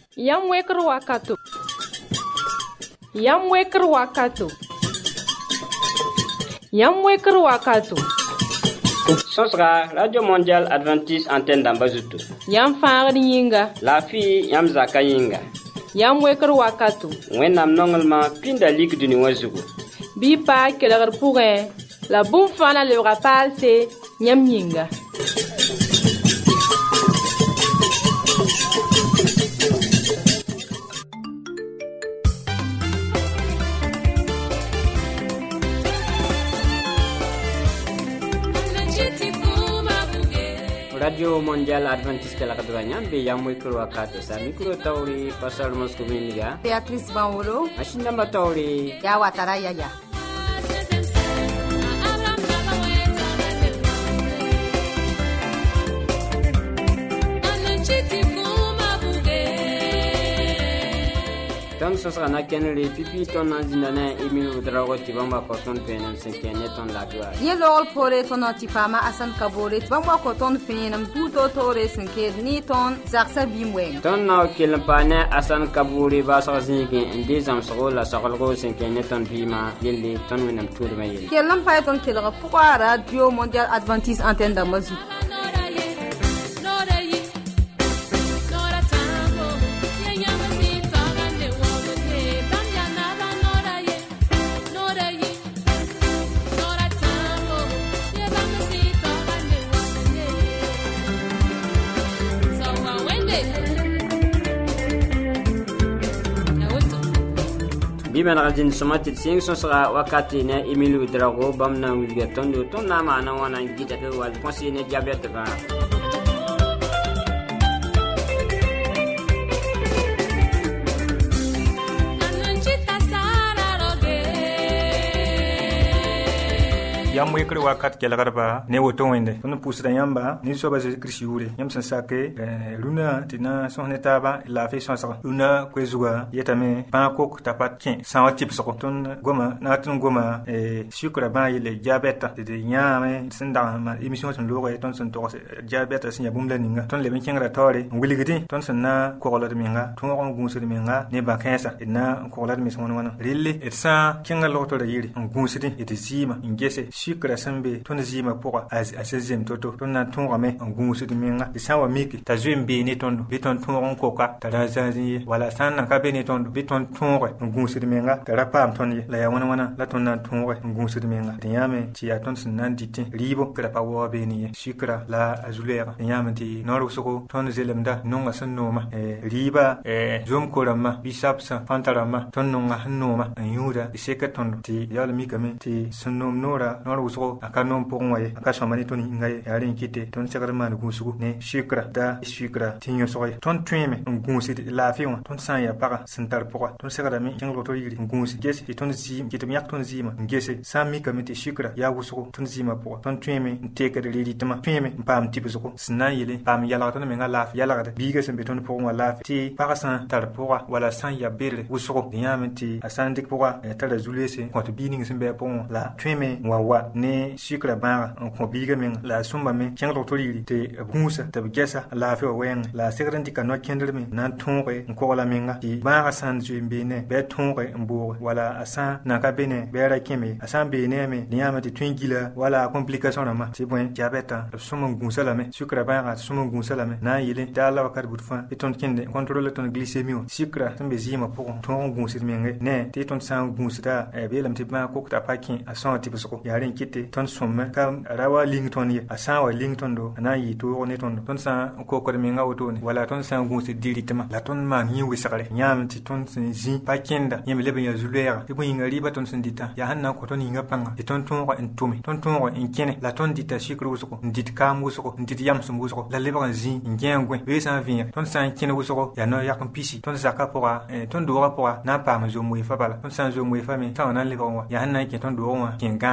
Yam weker wakato. Yam weker wakato. Yam weker wakato. Sosra Radio Mondial Adventiste Antenne d'Ambazuto. Yam faagd yĩnga. La fi yam zaka yĩnga. Yam weker wakato. Wẽnnaam nonglema pĩnda lik dũni wã zugu. Bɩ paa kelgr pʋgẽ la bũmb fãa lebga paalse yãmb yĩnga. Radio Mondial Adventiste la Kadwanya be yam weker wakato sa mikro tawri pasal mosco miniga Beatrice Banwolo ashinda matawri ya watara yaya Ton sosana kenri pipi ton anzindana Emile Drago tibamba koton penem senkene ton la gloire. Ye lol pore ton tipama asan kabore tibamba koton penem tuto tore senke ni ton zaksa bimwe. Ton na kelpane asan kabore ba sazinge inde zamsgo la sagalgo senkene ton bima yelle ton wenam turma yelle. Kelam pa ton kelga pourquoi Radio Mondial Adventiste Antenne d'Amazou. Biban rajin somatit sing sosra wakati na Emile Drago bamna wilgaton do ton na mana wana gita ke wal konsine diabete ba yam weker wakat kelgarba ne woto wende on pusra yamba ni so ba Kristi yure yam san sake luna tina sonne taba la fe sonsa luna kwezuga yetame pa kok tapat kin san tip so ton goma na ton goma sukra ba yele diabeta de nyame sinda ma emission ton logo ton son to diabeta sin ya bumla ninga ton le ben kingra tore wiligiti ton san na ko la de minga ton on gunsu de minga ne ba kansa na ko la de mi son wana rille et sa kinga loto de yiri on gunsu de et zima ingese shikra sambe ton zima pour a 16e toto ton na ton rame en gunsu de minga de sawa miki ta zwembe ni ton beton ton koka ta razanzi wala sanna ka be ni ton beton ton en gunsu de minga ta rapam ton la ya wana la ton na ton en gunsu de minga de yame ti ya ton nan dite ribo kra pa wo be ni shikra la azulera de yame ti noru soko ton zelemda nonga sanoma riba zum korama bisapsa pantarama ton nonga noma anyura seka ton ti yala mikame ti sunnom nora noru soko akanom pongwaye akashamani ton ngai yarin kite ton sekar man gusugo ne shikra da shikra tinyo soye ton tweme ngusi la fiwa ton san ya para sentar poka ton sekar mi king loto yiri ngusi gese ton zim kite mi ton zima ngese sami kamite shikra ya gusugo ton zima poka ton tweme teke de lidi tama tweme pam tipu soko sna yele pam yala ton menga la yala da biga sembe ton pongwa la ti para san tar poka wala san ya bere gusugo yamenti asandik poka tar zulese ko to bining sembe pon la tweme wa ne shikra ba ko biga men la sumba men king loto yiri te bunsa te gesa la fe wen la sekranti kan no kendel men nan tonre ko la menga ti ba san zumbe ne be tonre mbo wala asan na ka bene be ra keme asan be ne me niama ti twingila wala complication na ma ti bon diabeta sumun gunsala me shikra ba sumun gunsala me na yile dala wakar butfa eton kende contrôle ton glycémie shikra tambe zima pour ton gunsit menge ne ti ton san gunsita be lam ti ba ko ta pakin asan ti busko yaren kite ton somme kam rawa lington ye asan wa lington do na yi to ne ton san ko ko me nga woto ne wala ton san gunsit directement la ton ma nyi wisare nyam ti ton sin zi pakenda yem lebe ya zulera ti bo yinga riba ton sin dita ya hanna ko ton yinga panga ti ton ko en tumi ton ko en kene la ton dita shikru usko dit kam usko dit yam sum usko la lebe kan zi ngengwe we san vin ton san kene usko ya no ya kan pisi ton zaka pora ton do pora na pa ma zo mu fa bala ton san zo mu fa me ta na lebe wa ya hanna ke ton do wa ken gande wili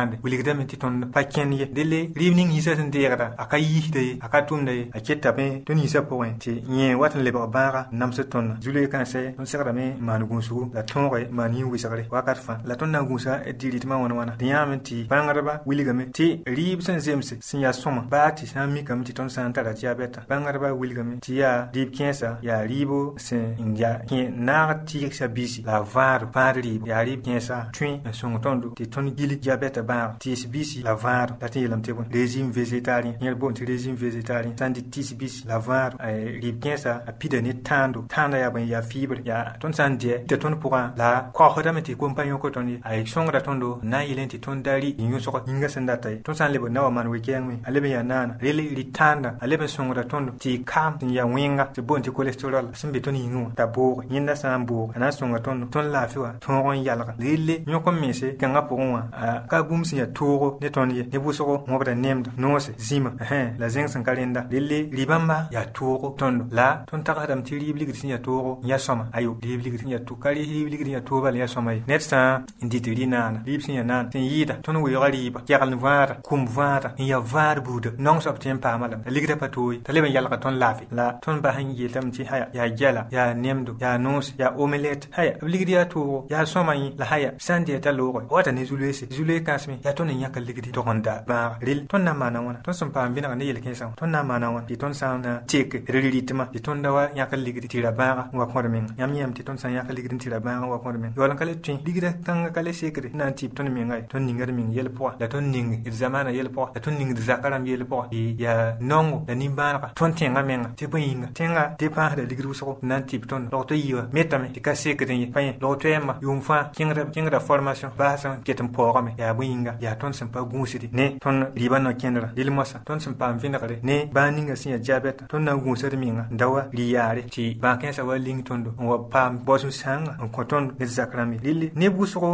wilgdame tɩ tõnd pa kẽnd ye dele rɩɩb ning yĩsã sẽn deegda a ka yiisda ye a ka tʋmda ye a ketame tõnd yĩsã pʋgẽ tɩ yẽ wat n lebg bãaga n nams tõndã zu-loe kãnse tõnd segdame n maan gũusgu la tõoge maan yĩn-wɩsgre wakat fãa la tõnd na n gũusa d dɩ rɩtmã wãn-wãna d yãame tɩ bãngdbã wilgame tɩ rɩɩb sẽn zemse sẽn yaa sõma baa tɩ sã n mikame tɩ tõnd sã n tara diabɛta bãngdbã wilgame tɩ yaa rɩɩb kẽesa yaa rɩɩbo sẽn ya naag tɩɩgsa bisi la vaad rɩɩb yaa rɩɩb kẽesa tõe n sõng tõndo tɩ tõnd gil diabɛta bãag tɩɩs bisi la vaad la tɩ yeelame tɩ bõe régime végétarien yẽr boond tɩ régime végétarien sã n dɩ tɩɩs bisi la vaad rɩɩb kẽesa a pida ne tãanda yaa bõe yaa fibre yaa tõnd sã n dɩɛ tɩ tõnd pʋgã la kaoosdame tɩ kom pa yõk tõnd ye a sõngda tõndo n na n yɩlẽ tɩ tõnd da rɩ yõsg yĩnga sẽn data ye tõnd sã n leb n na wa maan we-kɛɛngme a leb n yaa naana rel rɩ tãanda a leb n sõngda tõndo tɩ y kaam sẽn yaa wẽnga tɩ boond tɩ colesterol sẽn be tõnd yĩngẽ wã t'a booge yẽnda sã n boog a na n sõnga tõndo tõnd laafɩ wã tõog n yalga relle yõk n mense kãngã pʋgẽ wã ka bũmb sẽn yaa toogo ne tõnd ye ne wʋsgo wõbda nemda noose zĩma la zẽng sẽn ka rẽnda relle rɩ-bãmba yaa toogo tõndo la tõnd tagsdame tɩ rɩɩb ligd sẽn yaa toogo n yaa sõma ayo rɩɩb ligd sẽn yaa ka rɩɩb ligd n yaa toog bala yaa sõma ye ned sã n dɩt rɩ naana rɩɩb sẽn yaa naana sẽn yɩɩda tõnd weooga rɩɩba kɛgl vãada kum vãada n yaa vaad buuda nong soab tɩ n paama lame la ligda pa tooye t'a leb n yalga tõnd laafɩ la tõnd bas n yeelame tɩ haya yaa gɛla yaa nemdo yaa noos yaa omelette haya b ligd yaa toogo yaa sõma yẽ la haya sã n dɩɛ t'a looge wata ne zu-loeese zu-loe kãsme yaa tõnd n yãka ligdi tog n da bãaga rel tõnd na n maana wãna tõnd sẽn paam vẽneg ne yel-kẽensã wã tõnd na n maana wãna tɩ tõnd sã n na teke d rɩtmã tɩ tõnd da wa yãk ligdi tɩ ra bãaga n wa kõd menga yãmb yãmb tɩ tõnd sã n yãk ligd tɩ ra bãaga n wa kõd menga yaool n ka le tõe ligda kãngã ka le sekre n na n tɩɩb tõnd menga ye tõnd ninga d meng yɛl pʋga la tõnd ning d zamaana yɛl pʋga la tõnd ning d zaka rãmb yɛl pʋga yaa nongo la nin-bãanega tõnd tẽngã menga tɩ bõe yĩnga tẽngã dépãasda ligd wʋsgo n na n tɩɩb tõnd log tɩ yɩɩga metame tɩ ka sekd n ye pa yẽ log toɛɛmã yʋʋm fãa kẽngda formation baa sẽn ket n paoogame yaa bõe yĩnga yaa tõnd sẽn pa gũusde ne tõnd rɩɩbã no-kẽndrã rel mosã tõnd sẽn paam vẽnegre ne bãag ninga sẽn yaa diabɛta tõnd na n gũusd menga n da wa rɩ yaare tɩ bãag-kẽensã wa ling tõndo n wa paam baoosem sãanga n kõ tõnd ned zak rãmb ye rel neb wʋsgo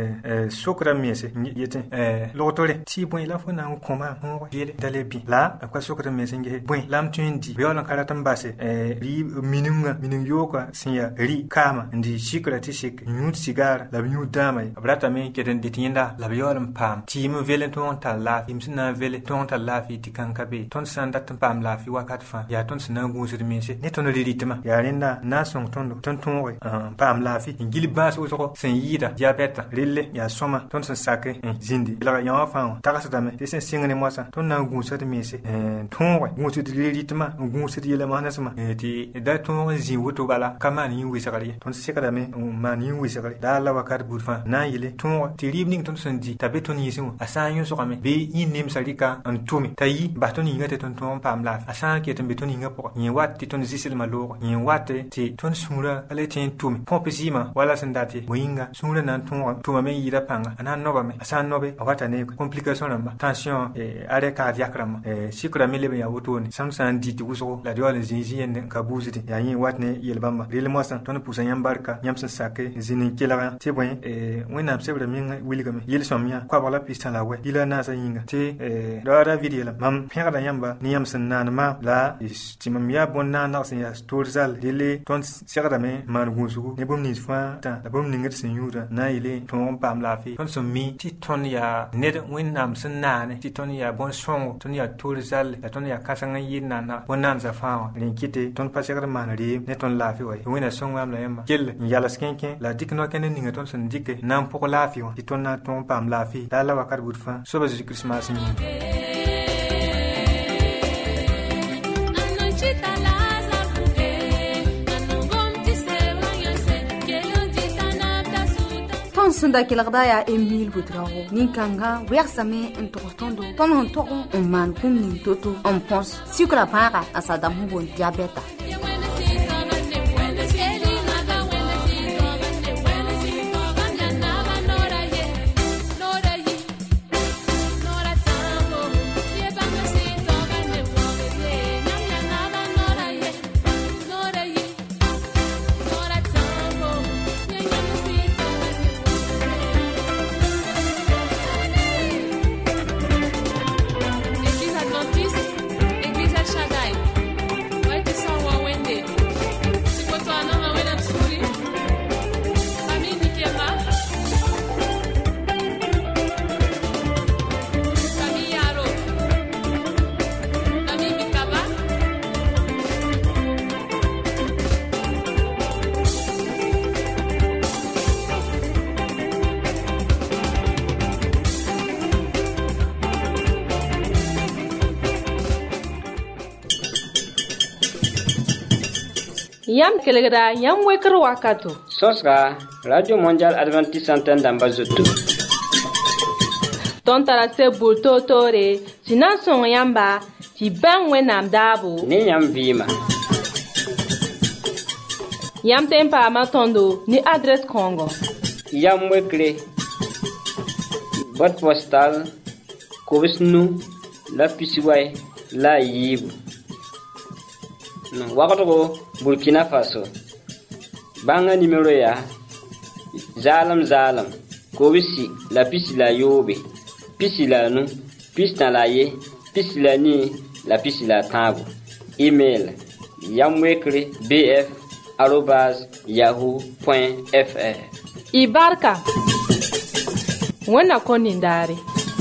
sokra mense yetẽ logtore tɩ bõe la fo na n kõmaõoge yele da le bɩ la b ka sokd mense n gese bõe la m tõe n di b yaool n ka rat n base mining yooka sẽn yaa rɩ kaama n dɩ sikra tɩ sik n yũud sigaara la b yũud dãama ye b ratame n ket n dɩt yẽnda la b yaool n paam tɩɩm n vel n tõog n tar laafɩ tɩɩm sẽn na n vele tõog n tar laafɩ tɩ kãng ka be tõnd sã n dat n paam laafɩ wakat fãa yaa tõnd sẽn na n gũusd mense ne tõnd rɩtmã yaa rẽnda n na n sõng tõndo tõnd tõoge n paam laafɩ n gil bãas wʋsgo sẽn yɩɩda diabɛta relle yaa sõma tõnd sẽn sake n zĩndi lga yã wã fãa wã tagsdame tɩ sẽn sɩng ne mosã tõnd na n gũusd mense tõoge gũusd rɩtmã n gũusd yɛla-maasmã tɩ da tõog n zĩ woto bala ka maan yĩn-wɩsgr ye tõnd sekdame n maan yĩn-wɩsgre daa la wakat buud fãa na n yɩle tõoge tɩ rɩɩb ning tõnd sẽn di t'a be tõnd yĩsẽ wã a sã n yõsgame bɩ yĩn nemsã rɩka n tʋme t'a yi bas tõnd yĩnga tɩ tõnd tõog n paam laafɩ a sã n ket n be tõnd yĩnga pʋgẽ yẽ wat tɩ tõnd zɩslmã looge yẽ wat tɩ tõnd sũurã ka le tẽ n tʋme põp zɩɩmã wala sẽn dat ye bõe yĩnga sũurã na n tʋmame n yɩɩda pãnga a na n nobame a sã n nobe a wata ne complication rãmba tension arrêt cardiaque rãmba sikra me leb n yaa wotone sãm sã n dɩ tɩ wʋsgo la d yaool n zĩig zĩ-yẽnd n ka buusde yaa yẽ wat ne yel-bãmba rel mosã tõnd pʋʋsa yãmb barka yãmb sẽn sake zĩnd n kelga tɩ bõe wẽnnaam sebrã meng wilgame yel-sõm yã koabg la pistã la wɛ yɩla naasã yĩnga tɩ ra david yeelame mam pẽgda yãmba ne yãmb sẽn naan maam la tɩ mam yaa bõn-naandg sẽn yaa toor zal relle tõnd segdame n maan gũusgu ne bũmb nins fãa tã la bũmb ningd sẽn yũuda na n yɩle tõog n paam laafɩ tõnd sẽn mi tɩ tõnd yaa ned wẽnnaam sẽn naane tɩ tõnd yaa bõn-sõngo tõnd yaa toor zalle la tõnd yaa kãseng n yɩɩd naana bõn-naandsã fãa wã rẽ kɩte tõnd pa segd n maan reem ne tõnd laafɩ wa ye wẽnna sõng-maam la yãmba kell n yals kẽ-kẽ la dɩk no-kẽnd ninga tõnd sẽn dɩke na n pʋg laafɩ wã tɩ tõnd na n tõog n paam laafɩ daa la wakat buud fãa soaba Zeezi Kiristmaas yĩnga sẽn da kelgda yaa Emile Butrago nin-kãngã wɛgsame n togs tõndo tõnd sẽn tog n maan bũmb ning to-to n põs sikra pãaga a sadam sẽn boond diabɛta Église Adventiste, Église El Shaddai. Ouais, tu sens, ouais, Yam kelegra yam wekr wakato. Sosra Radio Mondial Adventiste Antenne d'Ambazoto. Ton tarase bulto tore, sinan son yamba, ti ben wenam dabo. Ni yam vima. Yam tempa matondo ni adresse Congo. Yam wekre. Boîte postale. Kobisnu la pisiway la yibu. Wakato Burkina Faso. Banga numéro ya Zalam Kobisi la pisi la yobe. Pisi la nu, pisi na la ye, pisi la ni, la pisi la tabu. Email yamwekre bf@yahoo.fr. Ibarka. Wana konindare.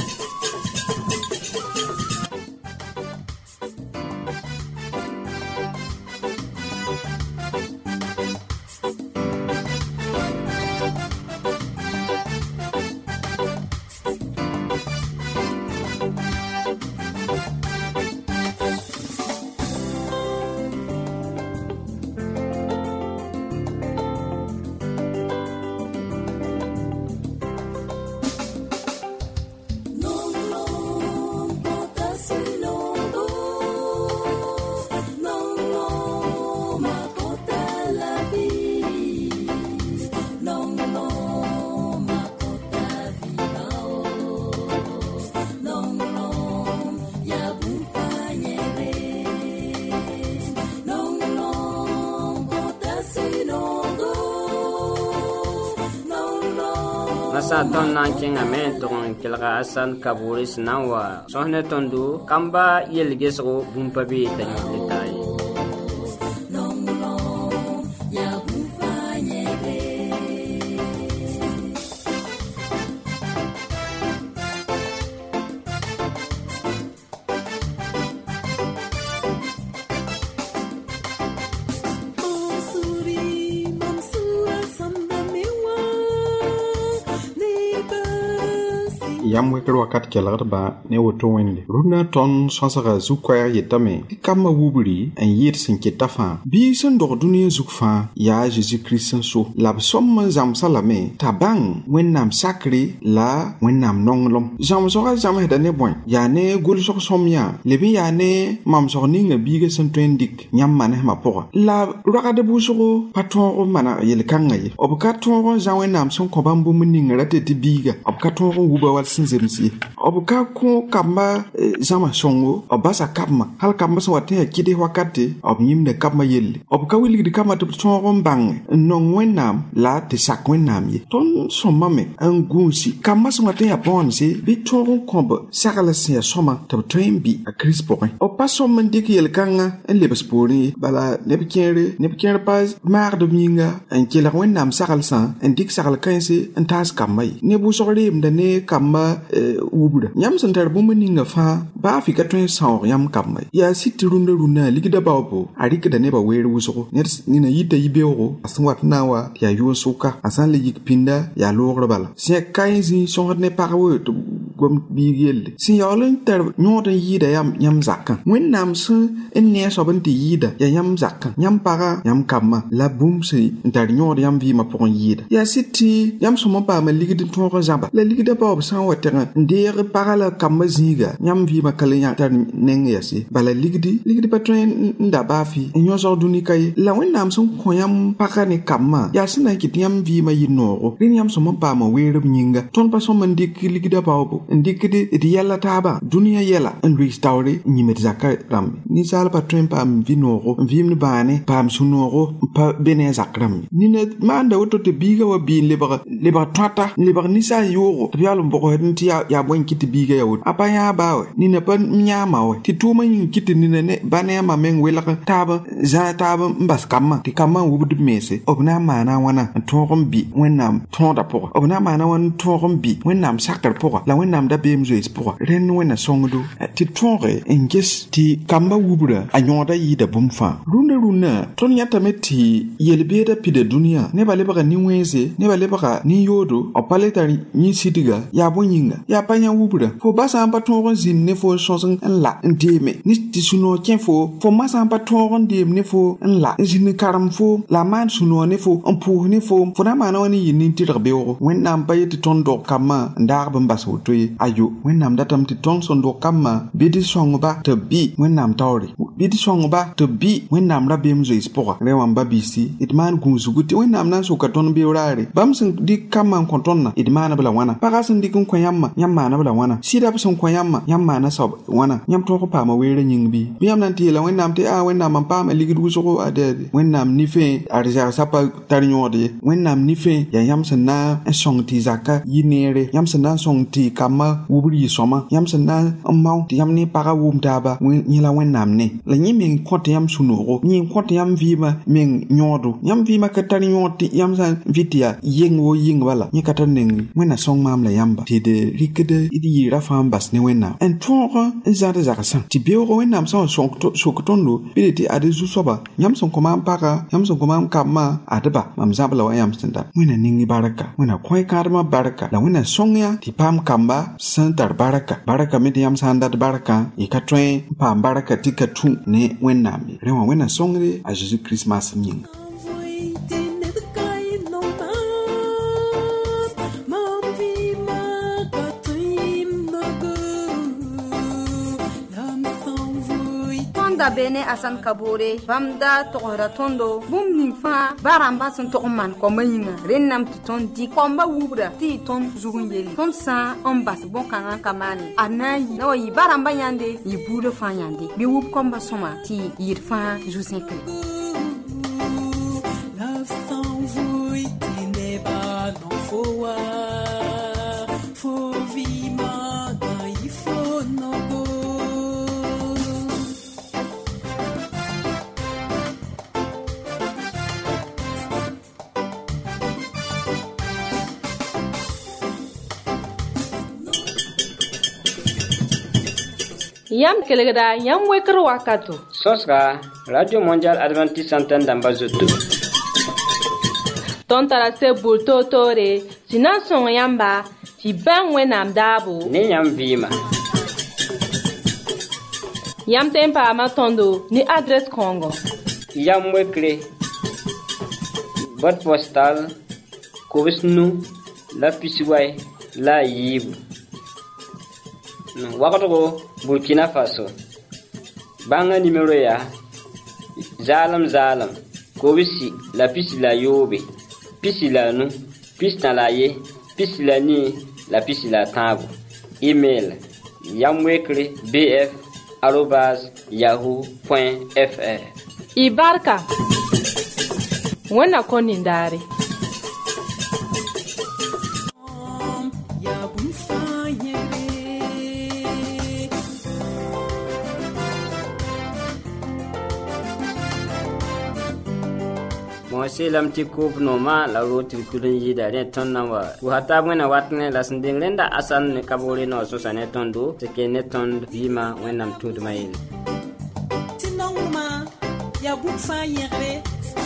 Masa ton nan kinga men ton kilga asan kaburis nawa sohne tondu kamba yelgesgo bumpabi tanyitai. Yam wekr wakat kelgdba ne woto wẽnde rũnã tõnd sõsga zu-koɛɛg yetame tɩ kambã wubri n yɩɩd sẽn keta fãa bii sẽn dog dũniyã zug fãa yaa Zeezi-Kirist n so la b sõm n zãmsa lame t'a bãng wẽnnaam sakre la wẽnnaam nonglem zãmsgã zãmsda ne bõe yaa ne gʋlsg sõm yã leb n yaa ne mamsg ninga biigã sẽn tõe n dɩk yãmb manesmã pʋgã la rogd bʋsgo pa tõog n mana yel-kãngã ye b ka tõog n zã wẽnnaam sẽn kõ bãmb bũmb ninga ra tɩ biiga b ka tõog n wuba wall sẽn zemsi b ka kõ kambã zãma sõngo b basa kabmã hal kambã sẽn wa tɩ yaa kɩd wakate b yĩmda kabmã yelle b ka wilgd kambã tɩ b tõog n bãng n nong wẽnnaam la tɩ sak wẽnnaam ye tõnd sõmame n gũusi kambã sẽn wa tɩ yaa bõonse bɩ tõog n kõ b sagl sẽn yaa sõma tɩ b tõe n bɩ a Kirist pʋgẽ b pa sõm n dɩk yel-kãngã n lebs poorẽ ye bala neb kẽer pa maagd b yĩnga n kelg wẽnnaam saglsã n dɩk sagl kãense n taas kambã ye neb wʋsg reemda ne kambã wubra yãmb sẽn tar bũmb ninga fãa baa fɩ ka tõe n sãoog yãmb kambã ye yaa sɩd tɩ rũndã ligda baoobo a rɩkda nebã weer wʋsgo ned nina yita yi-beoogo a sẽn wat n na n wa tɩ yaa yʋʋn sʋka a sã n le yik pĩnda yaa loogr bala sẽn yaa kaẽ zĩig sõsd ne pag we tɩ gom biig yelle sẽn yaool n tar yõod n yɩɩda yãmb zakã wẽnnaam sẽn n ne a soab n tɩ yɩɩda yaa yãmb zakã yãmb pagã yãmb kambã la bũmb sẽn n tar yõod yãmb vɩɩmã pʋgẽ yɩɩda yaa sɩd tɩ yãmb sõm n paama ligd n tõog n zãba la ligda baoob sã n wa tẽg n deeg pagã la kambã zĩiga yãmb vɩɩmã ka le tar neng yase bala ligdi pa tõe n da baafɩ n yõsg dũnika ye la wẽnnaam sẽn kõ yãmb pagã ne kambã yaa sẽn na n kɩt yãmb vɩɩmã yɩ noogo rẽnd yãmb sõm n paama weerb yĩnga tõnd pa sõm n dɩk ligda baoobo n dɩkd d yɛla taabã dũniyã yɛla n loees taoore n yĩmd zakã rãmbe ninsaal pa tõe n paam vɩ-noogo n vɩɩmd bãane paam sũ-noogo n pa be ne a zak rãmbe nina maanda woto tɩ biigã wa bɩ n lebg tõata n lebg ninsaal yoogo tɩ b yaool n bʋgsd n tɩ yaa bõe n kɩt tɩ biigã yaa woto a pa yãa baa wɛ nina pa yãama wɛ tɩ tʋʋmã yĩng kɩt nina ne ba ne a ma meng welg taab zãag taab n bas kambã tɩ kambã n wubd b meese b na n maana a wãna n tõog n bɩ wẽnnaam tõoda pʋgã b na n maana wãn n tõog n bɩ wẽnnaam sakr pʋgã la wẽnnaam wẽnnaam da beem zoees pʋga rẽnd wẽnna sõngdo tɩ tõoge n ges tɩ kamba wubra a yõoda yɩɩda bũmb fãa rũndã tõnd yãtame tɩ yel-beeda pida dũniyã nebã lebga nin-wẽnze nebã lebga nin-yoodo b pa le tar yĩ-sɩdga yaa bõe yĩnga yaa pa yã wubra fo ba sã n pa tõog n zĩnd ne fo sõs n la n deeme ne tɩ sũ-noog kẽ fo ma sã n pa tõog n deem ne fo n la n zĩnd karem fo la n maan sũ-noog ne fo n pʋʋs ne fo na n maana wa ne yɩ nin-tɩrg beoogo wẽnnaam pa yetɩ tõnd dog kambã n daag bn bas woto ye ayo wẽnnaam datame tɩ tõnd sẽn dog kambã bɩ d sõngba tɩ b bɩ wẽnnaam taoore bɩ d sõngba tɩ b bɩ wẽnnaam ra-beem zoees pʋga rẽ wãn ba-biisi d maan gũusgu tɩ wẽnnaam na n soka tõnd beoog raare bãmb sẽn dɩk kambã n kõ tõndã d maanb la wãna pagã sẽn dɩk n kõ yãmbã yãmb maanb la wãna sɩdab sẽn kõ yãmbã yãmb maana soab wãna yãmb tõog n paama weerã yĩng bɩ bɩ yãmb na n tɩ yeela wẽnnaam tɩ wẽnnaam n paama ligd wʋsgo ade wẽnnaam nifẽ a rɩzagsa pa tar yõod ye wẽnnaam nifẽ yaa yãmb sẽn na n sõng tɩ zaka yɩ neere yãmb sẽn na n sõng tɩ kambã wubr yɩ sõma yãmb sẽn na n mao tɩ yãmb ne pagã wʋm taaba yẽla wẽnnaam ne la yẽ meng kõ tɩ yãmb sũ-noogo yẽ kõ tɩ yãmb vɩɩmã meng yõodo yãmb vɩɩmã ka tar yõod tɩ yãmb sã n vɩ tɩ yaa yeng wo yĩng bala yẽ ka tar neng wẽnna sõng maam la yãmba tɩ d rɩkd d yɩɩrã fãa n bas ne wẽnnaam n tõog n zãd zagsã tɩ beoogo wẽnnaam sã n sok tõndo bɩ de tɩ ad zu-soaba yãmb sẽn kõ maam pagã yãmb sẽn kõ maam kambã adba mam zãb la wa yãmb sẽn dat wẽnna ning barka wẽnna kõe kãadmã barka la wẽnna sõng yã tɩ paam kamba sẽn tar barka me tɩ yãmb sã n dat barkã y ka tõe n paam barka tɩ ka tũ ne wẽnnaam ye rẽ wã wẽnna sõngde a Zeezi Kirist maasem yĩnga da bene asan kabore bamda tohra tondo bum ning fa baramba sun to man ko mayinga rennam to ton di komba wubra ti ton zugun yeli ton sa on bas bon kan kamani anayi no yi baramba yande yi bulo fa yande bi wub komba soma ti yir fa jusin kri love song vui ti ne ba no fowa fo vi ma da yi fo no go yam kelegda yam wekr wakato sõsga radio mondial adventiste antenne dãmba zoto tõnd tara se bul toor-toore tɩ na n sõng yãmba tɩ bãng wẽnnaam daabo ne yãmb vɩɩma yãmb tõe n paama tõndo ne adrɛs kõongo yam wekre boîte postale kobs nu la pisway la a yiibu wagdgo Burkina Faso bãngã nimero yaa zaalem kobsi la pisi la yoobe pisi la nu pisi tã la a ye pisi la nii la pisi la tãago email yamwekre bf@yahoo.fr y barka wẽnna kõ nindaare selam tɩ koob nooma la roog tɩ kul n yɩɩda rẽ tõnd na n wa pʋʋsa taab wẽnna wat ne la sẽn deng rẽnda asan ne kaboore na wa sõsa ne tõndo tɩ ke ne tõnd vɩɩmã wẽnnaam tũudmã yelle tɩ nongmã yaa bũmb fãa yẽgre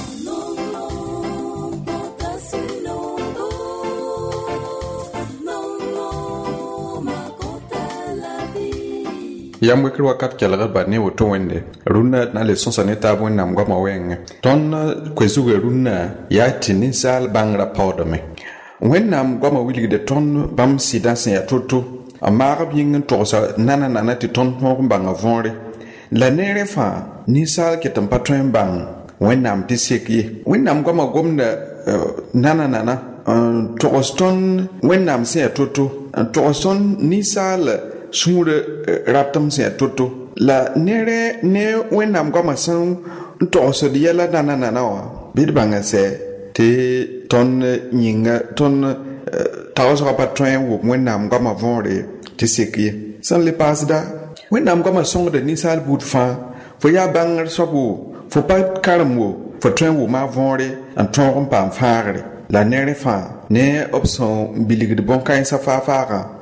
yam wekr wakat kelgd bad ne woto wẽnde rũnnã na le sõsa ne taab wẽnnaam goamã wɛɛngẽ tõnd koe-zugã rũnnã yaa tɩ ninsaal bãngrã paoodame wẽnnaam goamã wilgde tõnd bãmb sɩdã sẽn yaa to-to n maagb yĩng n togsa nana tɩ tõnd tõog n bãnga võore la neerẽ fãa ninsaal ket n pa tõe n bãng wẽnnaam tɩ sek ye wẽnnaam goamã gomda nana n togs tõnd wẽnnaam sẽn yaa to-to n togs tõnd ninsaal sũurã ratem sẽn yaa to-to la ne wẽnnaam goamã sẽn n togsd yɛla nana wã bɩ d bãnga sɛ tɩ tõnd yĩnga tõnd tagsgã pa tõe n wʋm wẽnnaam goamã võore tɩ sek ye sẽn le paasda wẽnnaam goamã sõngda ninsaal buud fãa fo yaa bãngr soab wo fo pa karem wo fo tõe n wʋma a võore n tõog n paam fãagre la neerẽ fãa ne b sẽn bilgd bõn-kãensã faafagã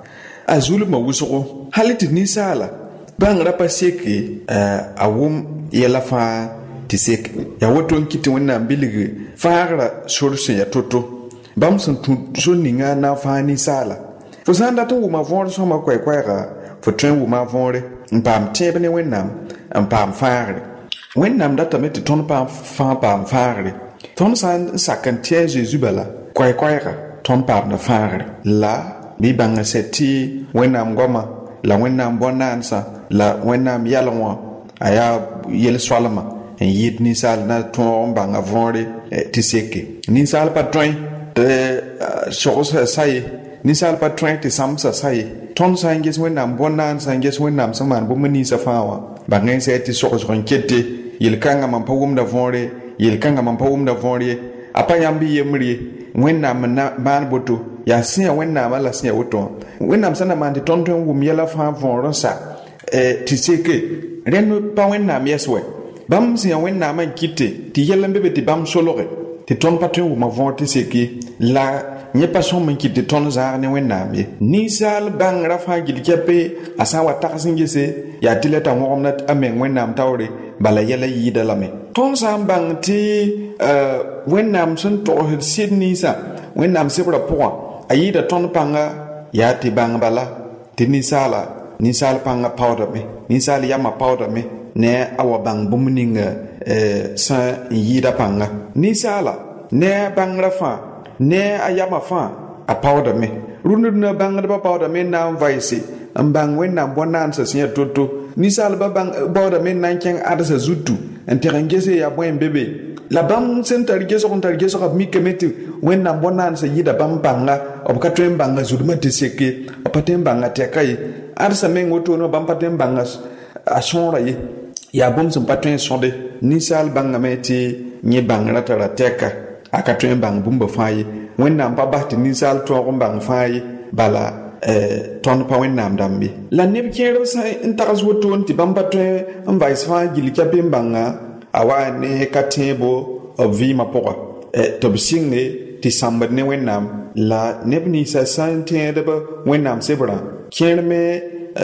a zulma wusgo haliti ni sala bang rapa seke a wum yela fa ti sek ya woton kiti wonna biligi faara sorse ya toto bam sun so ninga na fa ni sala fo sanda to wuma von so ma kwai ga fo tren wuma vonre mpam tebe ne wennam mpam faare wennam data meti ton pam fa pam faare ton san sakantie Jesus bala kwai ga ton pam na faare la bi banga seti wennam goma la wennam bonansa la wennam yalwa aya yel swalama en yit ni sal na ton banga vonre ti seke ni sal patron de sosa sai ni sal patron ti samsa sai ton sanges wennam bonansa sanges wennam saman bo mani safawa bangen seti sosa ronkete yel kanga man pawum da vonre yel kanga man pawum da vonre apayambi yemri wennam na ban boto ya sia wennam ala sia woto wennam sana man ti tonton wum yela fa vonro sa ti seke renu pa wennam yeswe bam sia wennam man kite ti yela mbebe ti bam solore ti ton patron wum von ti seke la nye passion man kite ton zar ne wennam ye ni sal bang rafa gilkepe asa wa taksingese ya tileta ngomnat amen wennam tawre bala yela yida lame ton sam bang ti wennam sun to Sydney sa wennam sebra po ayida ton panga ya ti bang bala ti ni sal panga powder me ni sal yama powder me ne awa bang bumninga sa yida panga ni sala ne bang rafa ne ayama fa a powder me runu na bang ba powder me na vaisi ambang wennam bonansa sia toto ni sal ba bang powder me nan ken adasa zutu enterengese ya bwen bebe la bam sentar geso ka mi kemeti wennam bonansa yida bam banga obkatwen banga zuduma tiseke apatem banga tekai arsa men woto no bam patem banga asonra ye ya bom sem patwen sonde ni sal banga meti nye banga tara teka akatwen bang bumba fayi wennam pa bahti ni sal to bang fayi bala ton pa wennam dambi la neb kero sa intaras woto nti bam patwen vice fa gilika banga awa ne katebo obvi mapoka to bisinge ti sambar ne wennam la nebni sa sante de ba wennam sebra kierme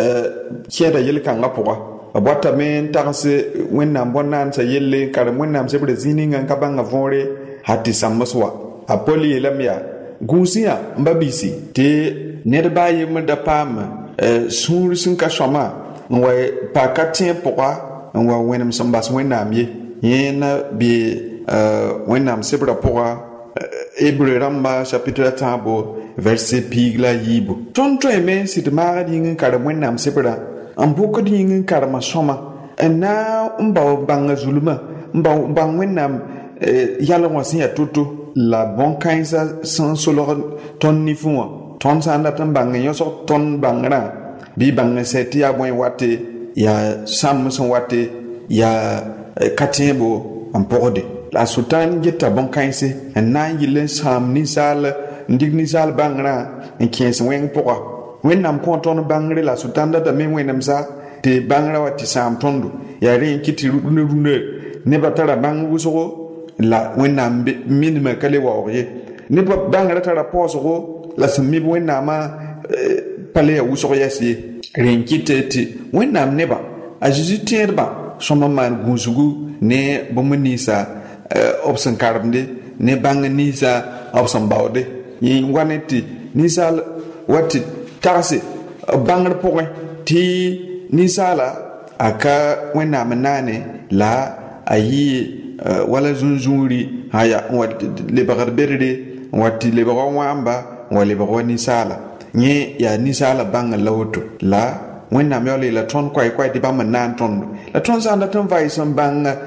kiera yel kanga poka abata men tarse wennam bonan sa yelle kar wennam sebra zininga kabanga vore hati sammaswa apoli lamya gusia mbabisi te nedba yem da pam sur sun ka shoma wa pa katin poka wa wennam sambas wennam ye yena bi wennam sebra poka Hébreu ramba chapitre tabo verset pigla yibo tonto eme sit mari ngin kar wennam sebra ambuko dingin kar ma soma na mba banga zuluma mba bang wennam yalla wasin ya tutu la bon kaisa sans solo ton ni fuwa ton sanda tan banga yoso ton bangana bi banga seti ya bon wate ya samson wate ya katembo ampode la sultan geta bon kaise en na yile sam ni sal ndig ni sal bangana en kies wen poka wennam konton bangre la sultan da men wennam sa te bangra wati sam tondo ya ren kiti rune ne batara bang wuso la wennam minima kale wawye ne bangra tara poso la smi wennama pale wuso yasi ren kiteti wennam neba ajizi terba soma man gunzugu ne bomunisa opsan karbde ne banganisa opsan bawde yi waneti nisal wati tarse bangar pokoy ti nisala aka wena manane la ayi wala zunzuri haya wati lebagar berde wati lebagar wamba wala lebagar nisala nye ya nisala bangal lawto la wena mele la ton kwai di bam nan ton la ton sa na ton vai sam bang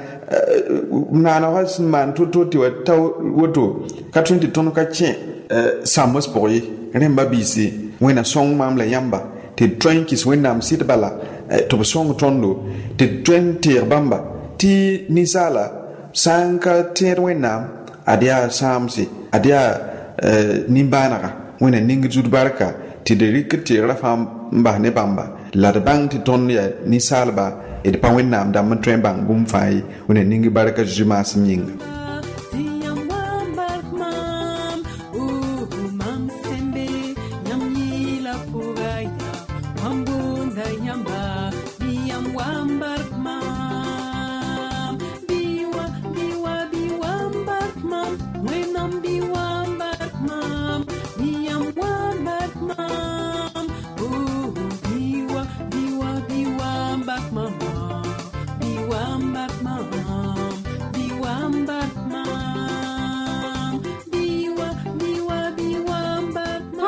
nana was man to ti wata woto ka 20 ton ka che samos poye remba bisi wena song mam la yamba te train kis wena sit bala to song tondo te 20 bamba ti nisala sanka ter wena adia samsi adia nimbanaka wena ningi jud barka ti de rikati rafam mba ne bamba la de bang ti ton ya nisalba e de pa wennam dam train bang bum fai wena ningi barka juma simyinga Mam sembe nyamila pugaya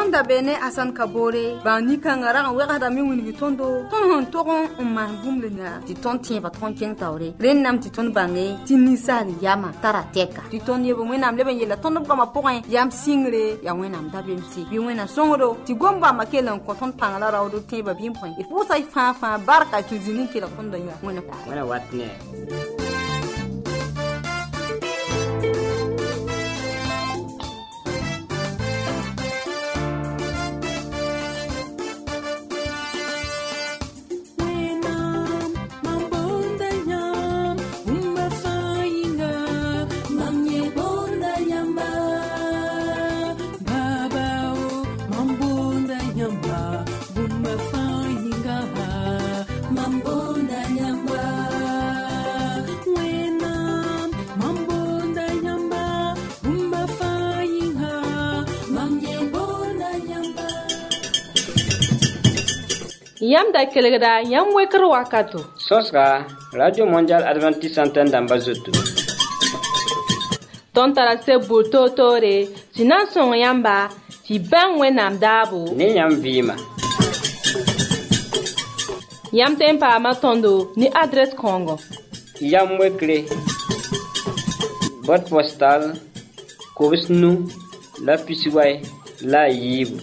Tonda bene asan kabore ba ni kangara kan wega da mi wini tondo ton togon man bumlena ti ton tin ba ton ken tawre ren nam ti ton bange ti nisari yama tara teka ti ton yebo wenam leben yela ton ko ma poin yam singre ya wenam da bemsi bi wena songro ti gomba makelan ko ton pangala rawdo te ba bim point e fu sai fa barka tu zinin kila ton da ya wena watne Yam da kelegda yam wekr wakato. Sosra Radio Mondial Adventiste Antenne d'Ambazoto. Ton tarase buto tore sinan son yamba ti ban wenam dabo. Ni yam vima. Yam tempa matondo ni adresse Congo. Yam wekre. Boîte postale Kobisnu la Pisiway la Yibu.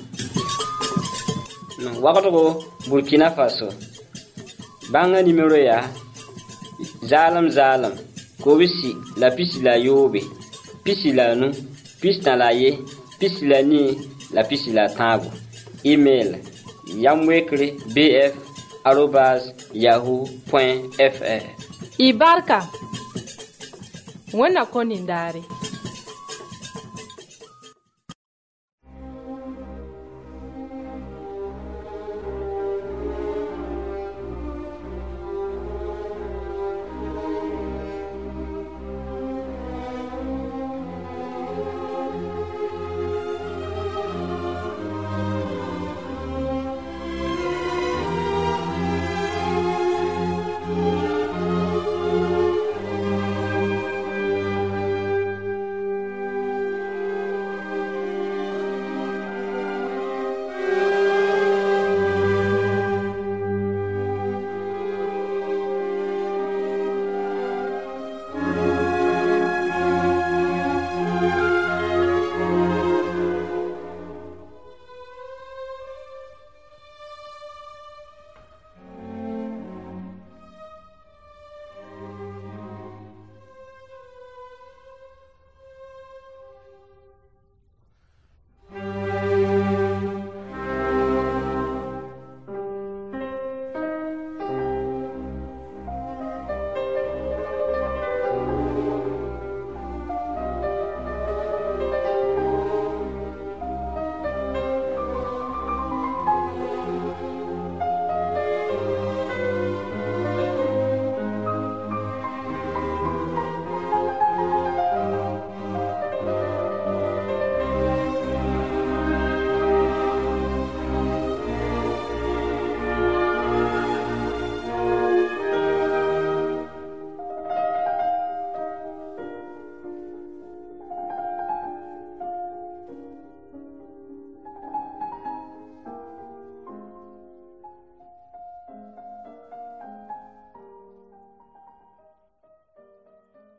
Wakato Burkina Faso. Banga numéro ya Zalam Kobisi la pisi la yobe pisi la nu pisi na la ye pisi la ni la pisi la tango. Email yamwekre@yahoo.fr. Ibarka wana konindare.